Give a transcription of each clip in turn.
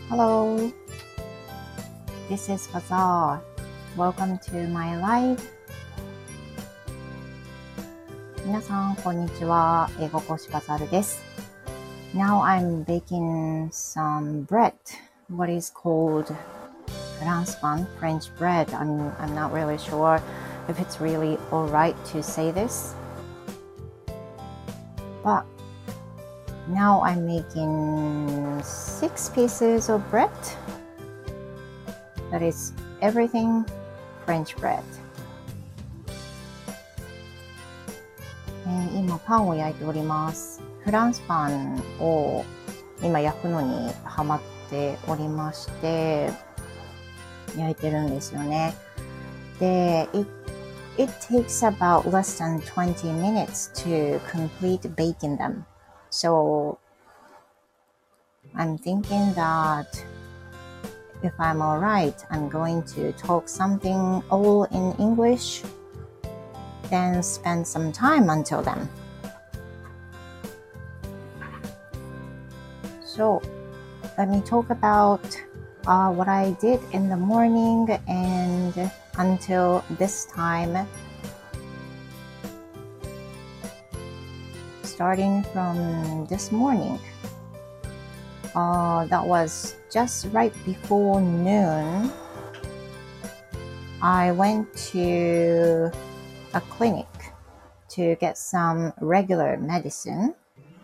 Hello, this is Bazaar. Welcome to my live. 皆さん、こんにちは。英語講師バザールです。Now I'm baking some bread. What is called France pain, French bread. I'm not really sure if it's really alright to say this. But now I'm making 6 pieces of bread. That is everything French bread. 今パンを焼いております。フランスパンを今焼くのにハマっておりまして焼いてるんですよね。で、it takes about less than 20 minutes to complete baking them. So I'm thinking that if I'm alright, I'm going to talk something all in English, then spend some time until then. So let me talk about what I did in the morning and until this time. Starting from this morning, that was just right before noon. I went to a clinic to get some regular medicine.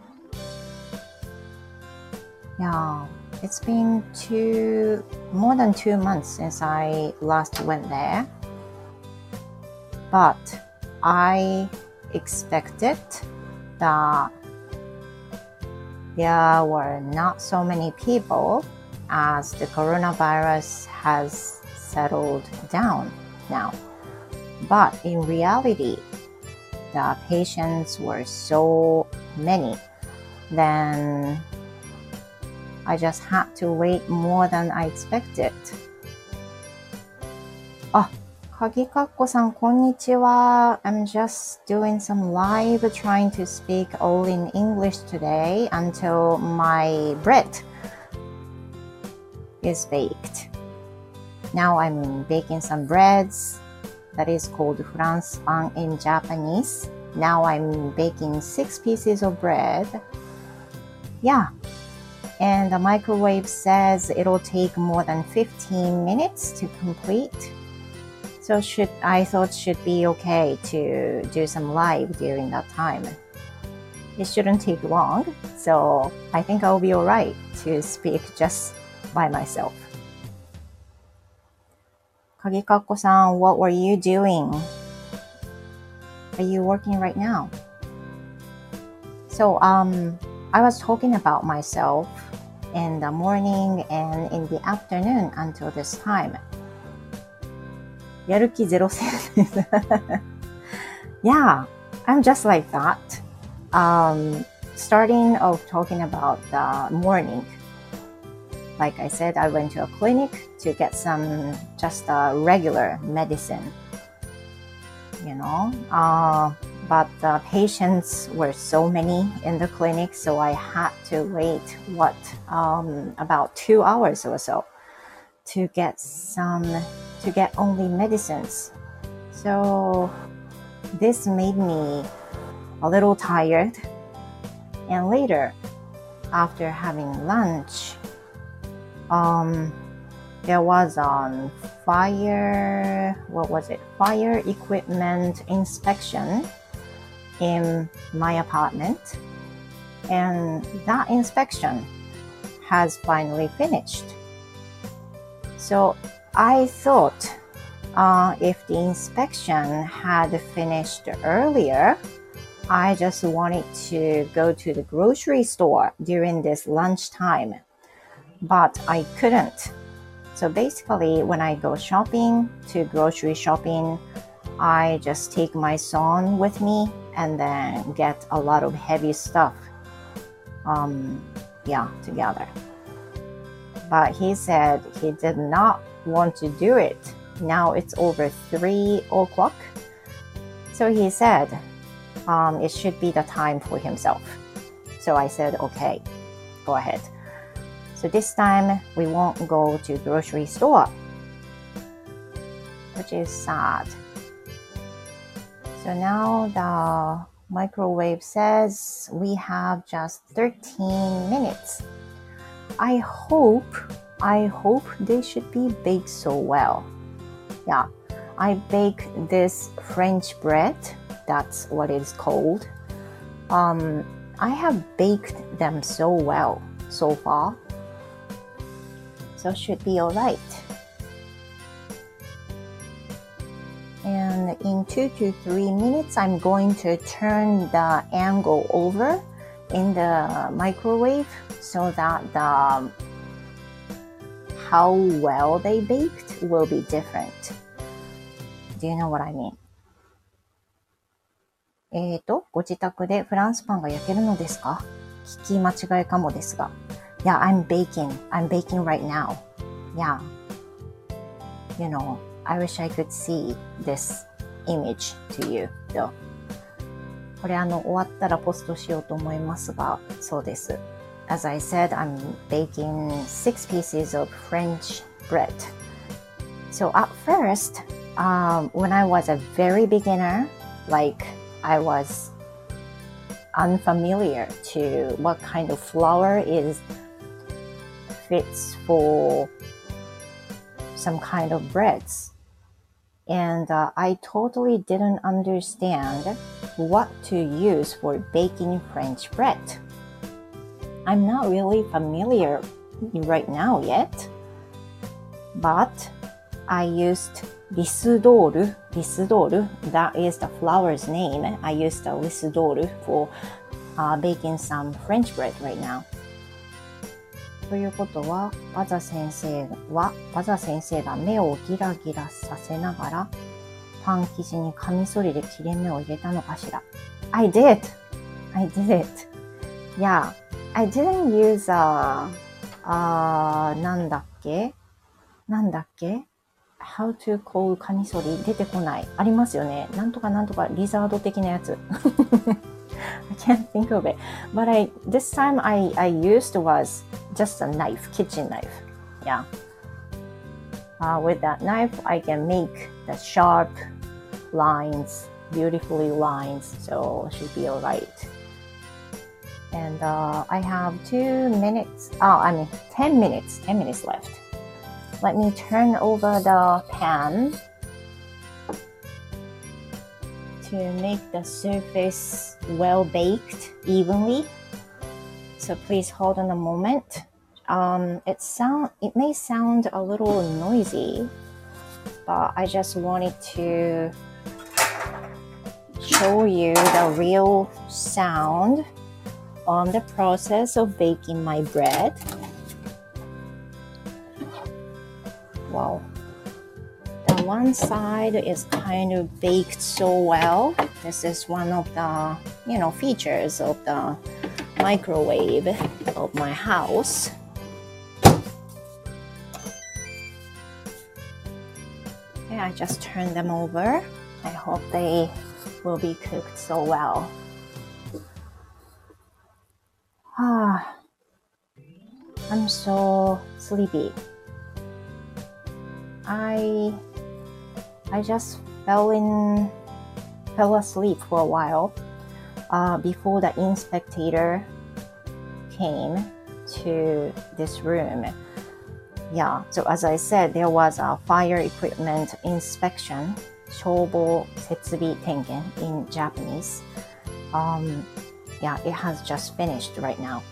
Yeah, it's been more than 2 months since I last went there. But I expected that there were not so many people as the coronavirus has settled down now. But in reality, the patients were so many. Then I just had to wait more than I expected. 鍵かっこさん、こんにちは。I'm just doing some live trying to speak all in English today until my bread is baked. Now I'm baking some breads that is called France pain in Japanese. Now I'm baking 6 pieces of bread. Yeah. And the microwave says it'll take more than 15 minutes to complete.So I thought should be okay to do some live during that time. It shouldn't take long, so I think I'll be alright to speak just by myself. 鍵かっこさん, what were you doing? Are you working right now? So, I was talking about myself in the morning and in the afternoon until this time.やる気ゼロ戦です。Yeah, I'm just like that. Starting of talking about the morning. Like I said, I went to a clinic to get some just regular medicine. You know, but the patients were so many in the clinic, so I had to wait, about 2 hours or so to get only medicines. So this made me a little tired. And later, after having lunch, there was a fire equipment inspection in my apartment. And that inspection has finally finished. So I thought if the inspection had finished earlier, I just wanted to go to the grocery store during this lunchtime, but I couldn't. So basically, when I go grocery shopping, I just take my son with me and then get a lot of heavy stuff, together. But he said he did not want to do it. Now it's over 3 o'clock. So he said it should be the time for himself. So I said, okay, go ahead. So this time we won't go to grocery store, which is sad. So now the microwave says we have just 13 minutes. I hope they should be baked so well. Yeah, I bake this French bread. That's what it's called. I have baked them so well so far. So should be alright. And in 2 to 3 minutes, I'm going to turn the angle over in the microwave so that how well they baked will be different. Do you know what I mean? ご自宅でフランスパンが焼けるのですか？聞き間違いかもですが。Yeah, I'm baking right now. Yeah. You know, I wish I could see this image to you, though. これ終わったらポストしようと思いますが、そうです。As I said, I'm baking 6 pieces of French bread. So at first, when I was a very beginner, like I was unfamiliar to what kind of flour fits for some kind of breads. And I totally didn't understand what to use for baking French bread. I'm not really familiar right now yet, but I used Lisdol. That is the flour's name. I used the Lisdol for baking some French bread right now. ということは、バザ先生が目をギラギラさせながら、パン生地にカミソリで切れ目を入れたのかしら。I did it. Yeah, I didn't useなんだっけ How to call カミソリ出てこない。ありますよね。なんとかリザード的なやつ。I can't think of it. But this time I used was just a knife, kitchen knife. Yeah. With that knife, I can make the sharp lines, beautifully lines, so it should be alright. And I have 10 minutes left. Let me turn over the pan to make the surface well baked evenly. So please hold on a moment. It may sound a little noisy, but I just wanted to show you the real sound on the process of baking my bread. Wow. The one side is kind of baked so well. This is one of the, features of the microwave of my house. Okay, I just turned them over. I hope they will be cooked so well. I'm so sleepy. I just fell asleep for a while before the inspector came to this room. Yeah, so as I said, there was a fire equipment inspection, 消防設備点検 in Japanese. Yeah, it has just finished right now.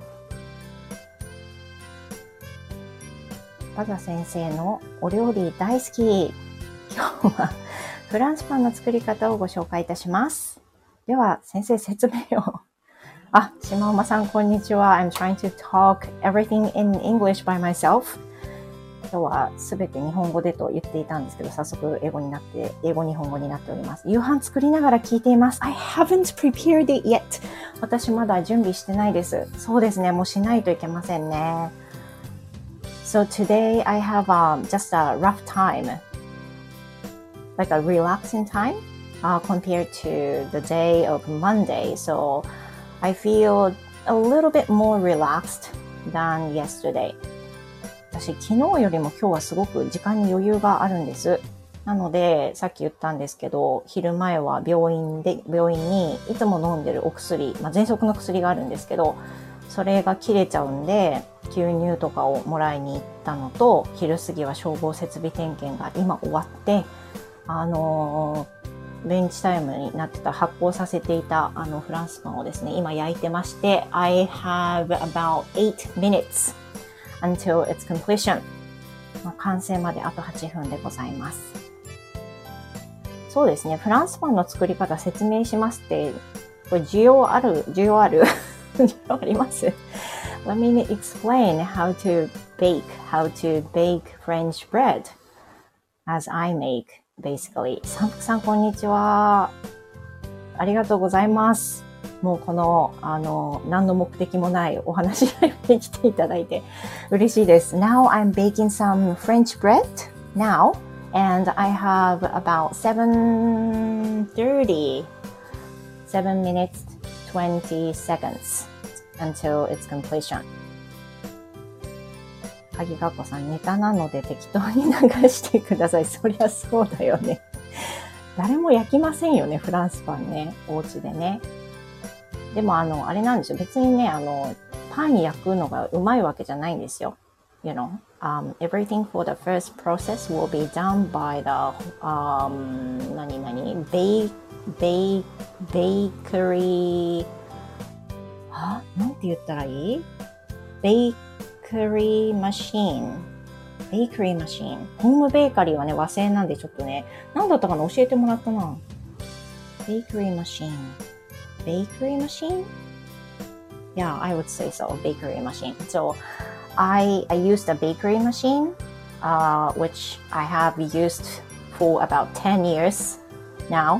バザ先生のお料理大好き。今日はフランスパンの作り方をご紹介いたします。では先生説明を。島馬さんこんにちは。I'm trying to talk everything in English by myself. 今日はすべて日本語でと言っていたんですけど、早速英語日本語になっております。夕飯作りながら聞いています。I haven't prepared it yet. 私まだ準備してないです。そうですね。もうしないといけませんね。So today I have just a rough time, like a relaxing time compared to the day of Monday. So I feel a little bit more relaxed than yesterday. 私、昨日よりも今日はすごく時間に余裕があるんです。なので、さっき言ったんですけど、昼前は病院にいつも飲んでるお薬、喘息の薬があるんですけど、それが切れちゃうんで、吸入とかをもらいに行ったのと、昼過ぎは消防設備点検が今終わって、ベンチタイムになってた発酵させていたフランスパンをですね、今焼いてまして、I have about 8 minutes until its completion. 完成まであと8分でございます。そうですね、フランスパンの作り方説明しますって、これ需要ある需要あります。Let me explain how to bake French bread as I make, basically. サンプさん、こんにちは。ありがとうございます。もうこの、何の目的もないお話に来ていただいて嬉しいです。Now I'm baking some French bread now, and I have about 7 minutes, 20 seconds until its completion. 鍵かっこさん、ネタなので適当に流してください。そりゃそうだよね。誰も焼きませんよね、フランスパンね。お家でね。でもあれなんですよ。別にね、パン焼くのがうまいわけじゃないんですよ。You know, everything for the first process will be done by the, bakery, なんて言ったらいい？ bakery machine。ベーカリーマシン。ホームベーカリーはね、和製なんでちょっとね、何だったかな？教えてもらったな。ベーカリーマシン。Bakery machine? Yeah, I would say so. Bakery machine. So I used a bakery machine, which I have used for about 10 years now.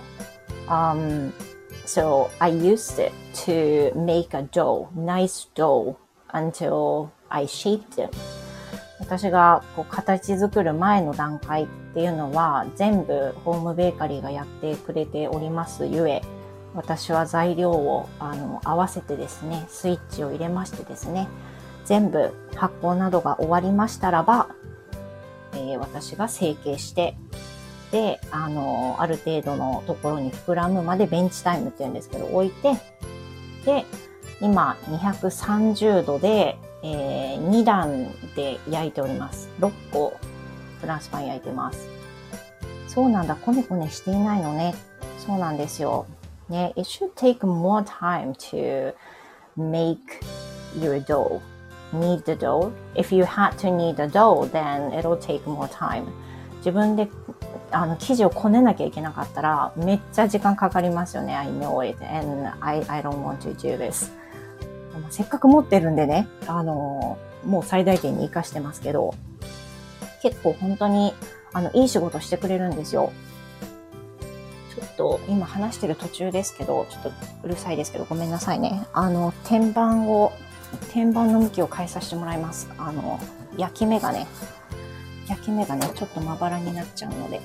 So I used it to make a dough, nice dough, until I shaped it. 私が形作る前の段階っていうのは全部ホームベーカリーがやってくれておりますゆえ、私は材料を合わせてですね、スイッチを入れましてですね、全部発酵などが終わりましたらば、私が成形して、で、ある程度のところに膨らむまでベンチタイムっていうんですけど置いて、で、今230度で、2段で焼いております。6個フランスパン焼いてます。そうなんだ、こねこねしていないのね。そうなんですよ。ね、it should take more time to make your dough. Knead the dough. If you had to knead the dough, then it'll take more time. 自分で生地をこねなきゃいけなかったらめっちゃ時間かかりますよね。I know it, and I don't want to do this. せっかく持ってるんでね、もう最大限に活かしてますけど、結構本当にいい仕事してくれるんですよ。ちょっと今話してる途中ですけど、ちょっとうるさいですけどごめんなさいね。天板の向きを変えさせてもらいます。焼き目がねちょっとまばらになっちゃうので。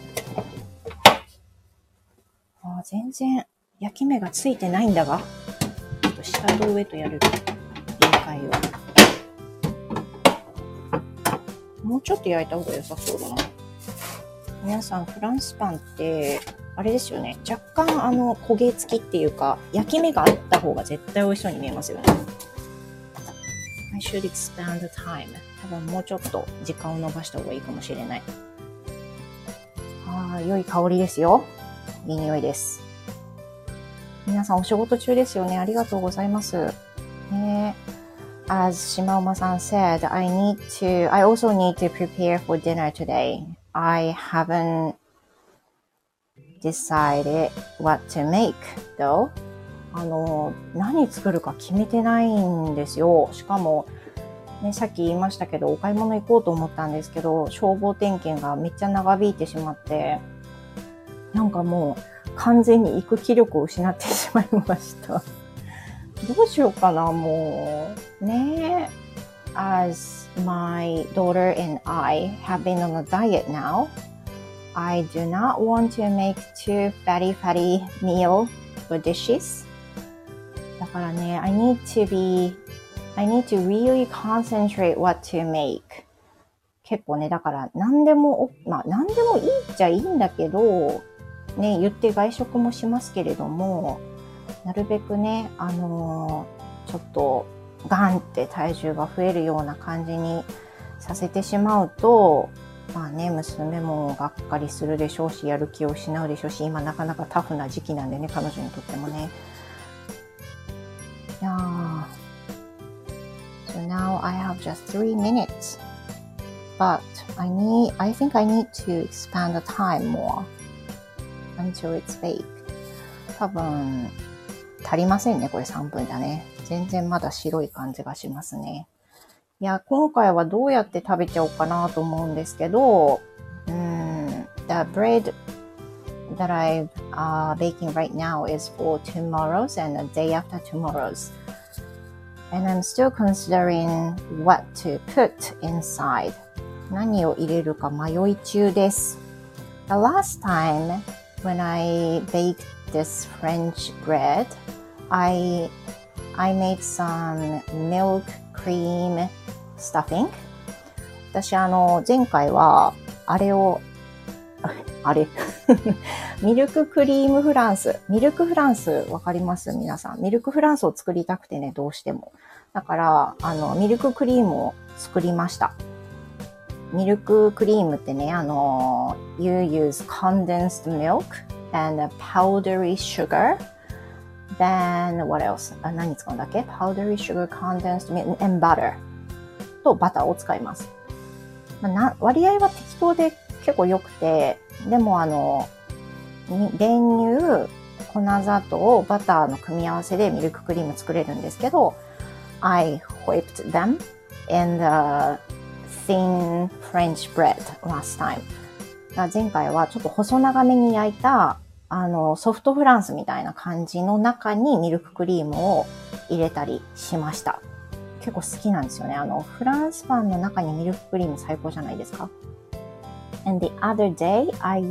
全然焼き目がついてないんだが、ちょっと下と上とやる限界を。もうちょっと焼いた方が良さそうだな。皆さんフランスパンってあれですよね。若干焦げ付きっていうか焼き目があった方が絶対美味しそうに見えますよね。I should expand the time. 多分もうちょっと時間を延ばした方がいいかもしれない。良い香りですよ。いい匂いです。皆さんお仕事中ですよね。ありがとうございます。As シマウマさん said, I also need to prepare for dinner today. I haven't decided what to make, though. 何作るか決めてないんですよ。しかも、ね、さっき言いましたけど、お買い物行こうと思ったんですけど、消防点検がめっちゃ長引いてしまって、なんかもう完全に行く気力を失ってしまいました。どうしようかな、もう。ねえ。As my daughter and I have been on a diet now, I do not want to make too fatty meal or dishes. だからね、I I need to really concentrate what to make. 結構ね、だから何でもいいっちゃいいんだけど、ね、言って外食もしますけれども、なるべくね、ちょっとガンって体重が増えるような感じにさせてしまうと、まあね、娘もがっかりするでしょうし、やる気を失うでしょうし、今なかなかタフな時期なんでね、彼女にとってもね。いやー。So now I have just 3 minutes. But I think I need to expand the time more until it's baked. 多分、足りませんね、これ3分だね。全然まだ白い感じがしますね。いや、今回はどうやって食べちゃおうかなと思うんですけど、the bread that I'm baking right now is for tomorrow's and the day after tomorrow's. And I'm still considering what to put inside. 何を入れるか迷い中です。The last time when I baked this French bread, I made some milk cream stuffing. 私前回はあれミルククリームフランス。ミルクフランスわかります皆さん。ミルクフランスを作りたくてね、どうしても。だから、ミルククリームを作りました。ミルククリームってね、you use condensed milk and powdery sugar. Then, what else? 何使うんだっけ ?powdery sugar, condensed milk, and butter. とバターを使います。割合は適当で結構良くて、でも練乳、粉砂糖、バターの組み合わせでミルククリーム作れるんですけど、I whipped them in the thin French bread last time. 前回はちょっと細長めに焼いたソフトフランスみたいな感じの中にミルククリームを入れたりしました。結構好きなんですよね。フランスパンの中にミルククリーム最高じゃないですか。And the other day, I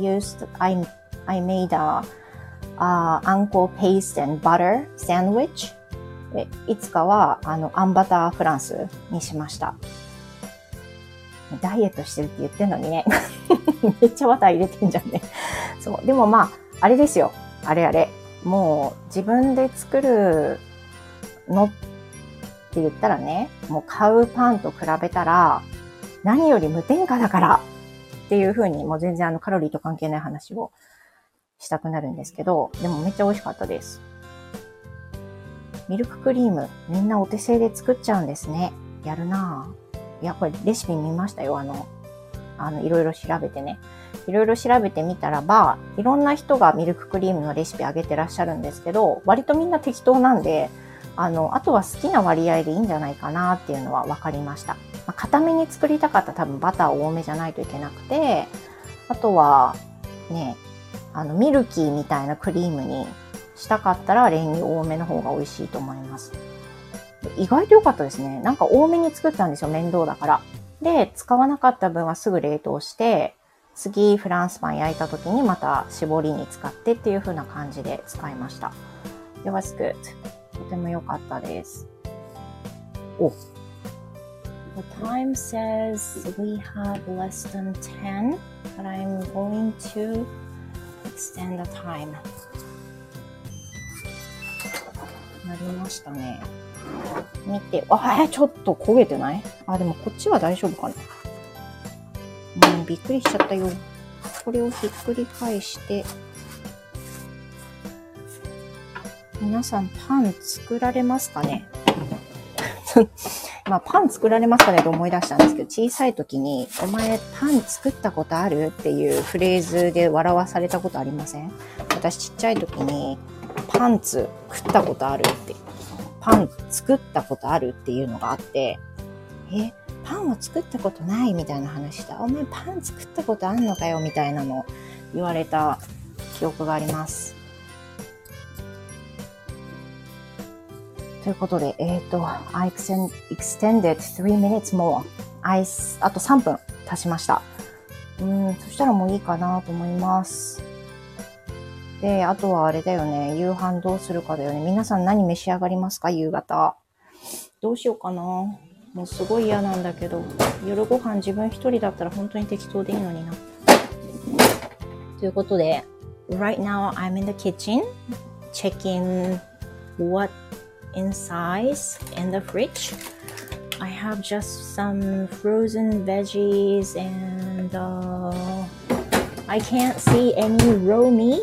made a uncle paste and butter sandwich. いつかは、あんバターフランスにしました。ダイエットしてるって言ってんのにね。めっちゃバター入れてんじゃんね。そう。でもまあ、あれですよ。あれ。もう自分で作るのって言ったらね、もう買うパンと比べたら、何より無添加だからっていう風に、もう全然カロリーと関係ない話をしたくなるんですけど、でもめっちゃ美味しかったです。ミルククリーム、みんなお手製で作っちゃうんですね。やるなぁ。いや、これレシピ見ましたよ。いろいろ調べてね。いろいろ調べてみたらば、いろんな人がミルククリームのレシピ上げてらっしゃるんですけど、割とみんな適当なんで、あとは好きな割合でいいんじゃないかなっていうのは分かりました。固めに作りたかったら多分バター多めじゃないといけなくて、あとはね、ミルキーみたいなクリームにしたかったら練乳多めの方が美味しいと思います。意外と良かったですね。なんか多めに作ったんですよ、面倒だから。で、使わなかった分はすぐ冷凍して、次フランスパン焼いた時にまた絞りに使ってっていう風な感じで使いました。It was good. とても良かったです。お。The time says we have less than 10, but I'm going to extend the time. なりましたね。見て、ちょっと焦げてない？でもこっちは大丈夫かな。びっくりしちゃったよ。これをひっくり返して、皆さんパン作られますかね？パン作られますかねと思い出したんですけど、小さい時に、お前パン作ったことあるっていうフレーズで笑わされたことありません？私ちっちゃい時に、パンツ食ったことあるって、パン作ったことあるっていうのがあって、パンを作ったことないみたいな話だ。お前パン作ったことあんのかよみたいなの言われた記憶があります。ということで、I extended 3 minutes more. あと3分足しました。そしたらもういいかなと思います。で、あとはあれだよね。夕飯どうするかだよね。皆さん何召し上がりますか？夕方。 どうしようかな。もうすごい嫌なんだけど、夜ご飯自分一人だったら本当に適当でいいのにな。ということで、right now I'm in the kitchen checking what inside in the fridge. I have just some frozen veggies and I can't see any raw meat.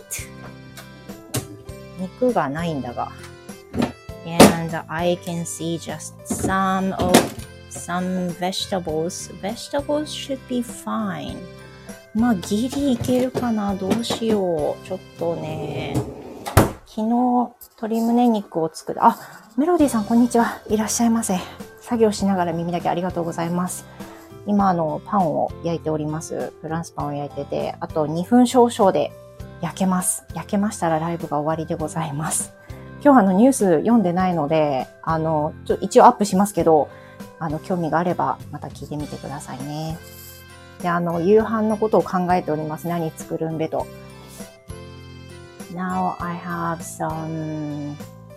肉がないんだが。And I can see just some vegetables. Vegetables should be fine. まあギリいけるかな。どうしよう。ちょっとね。昨日鶏胸肉を作る。あ、メロディーさんこんにちは。いらっしゃいませ。作業しながら耳だけありがとうございます。今パンを焼いております。フランスパンを焼いてて、あと2分少々で焼けます。焼けましたらライブが終わりでございます。今日ニュース読んでないので、一応アップしますけど、興味があればまた聞いてみてくださいね。で、夕飯のことを考えております。何作るんべと。Now I have some,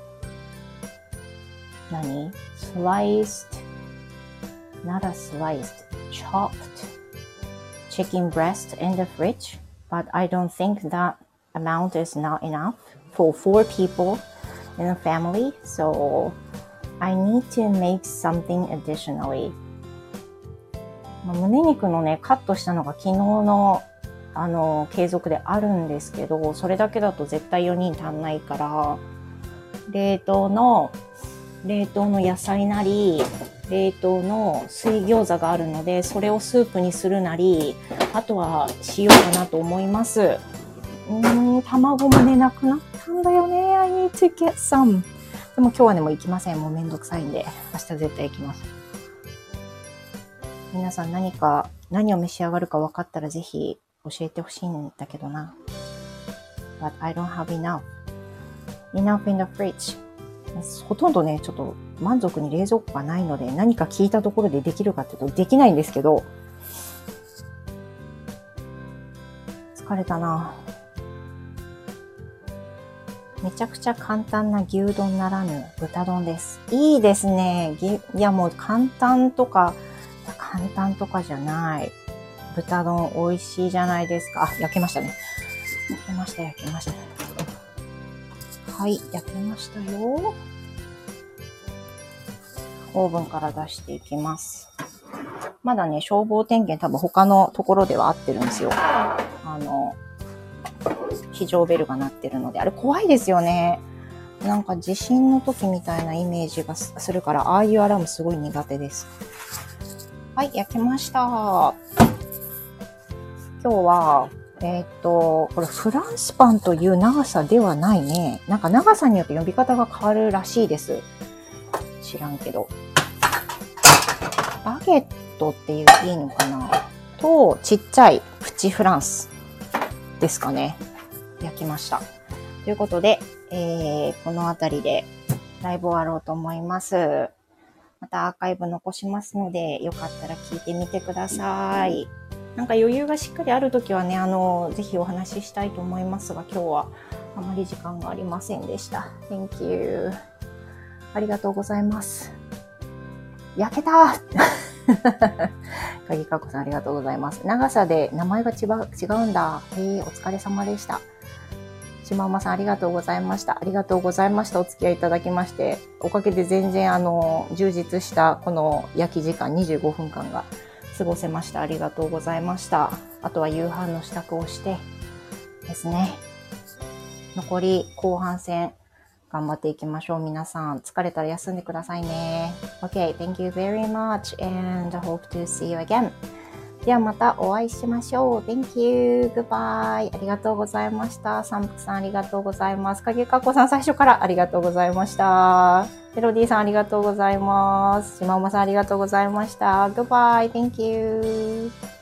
sliced, not a sliced, chopped chicken breast in the fridge, but I don't think that amount is not enough for 4 people.in a family, so I need to make something additionally. 胸肉のね、カットしたのが昨日の継続であるんですけど、それだけだと絶対4人足んないから、冷凍の野菜なり、冷凍の水餃子があるので、それをスープにするなり、あとはしようかなと思います。卵もね、なくなったんだよね。I need to get some. でも今日はね、もう行きません。もうめんどくさいんで。明日絶対行きます。皆さん何を召し上がるか分かったらぜひ教えてほしいんだけどな。But I don't have enough. Enough in the fridge. ほとんどね、ちょっと満足に冷蔵庫がないので、何か聞いたところでできるかっていうとできないんですけど。疲れたな。めちゃくちゃ簡単な牛丼ならぬ豚丼です。いいですね。いやもう簡単とかじゃない。豚丼美味しいじゃないですか。あ、焼けましたね。焼けました。はい、焼けましたよ。オーブンから出していきます。まだね、消防点検多分他のところでは合ってるんですよ。非常ベルが鳴ってるので、あれ怖いですよね。なんか地震の時みたいなイメージがするから、ああいうアラームすごい苦手です。はい、焼けました。今日は、これフランスパンという長さではないね。なんか長さによって呼び方が変わるらしいです。知らんけど。バゲットっていういいのかなと、ちっちゃいプチフランスですかね。焼きました。ということで、この辺りでライブ終わろうと思います。またアーカイブ残しますので、よかったら聞いてみてください。なんか余裕がしっかりあるときはね、ぜひお話ししたいと思いますが、今日はあまり時間がありませんでした。Thank you. ありがとうございます。焼けた鍵かこさんありがとうございます。長さで名前が違うんだ。お疲れ様でした。しまうまさんありがとうございました。ありがとうございました。お付き合いいただきまして。おかげで全然充実したこの焼き時間25分間が過ごせました。ありがとうございました。あとは夕飯の支度をしてですね。残り後半戦頑張っていきましょう。皆さん疲れたら休んでくださいね。Okay, thank you very much and I hope to see you again. ではまたお会いしましょう。Thank you. Goodbye. ありがとうございました。サンプさんありがとうございます。影かこさん最初からありがとうございました。メロディーさんありがとうございます。しまおまさんありがとうございました。Goodbye. Thank you.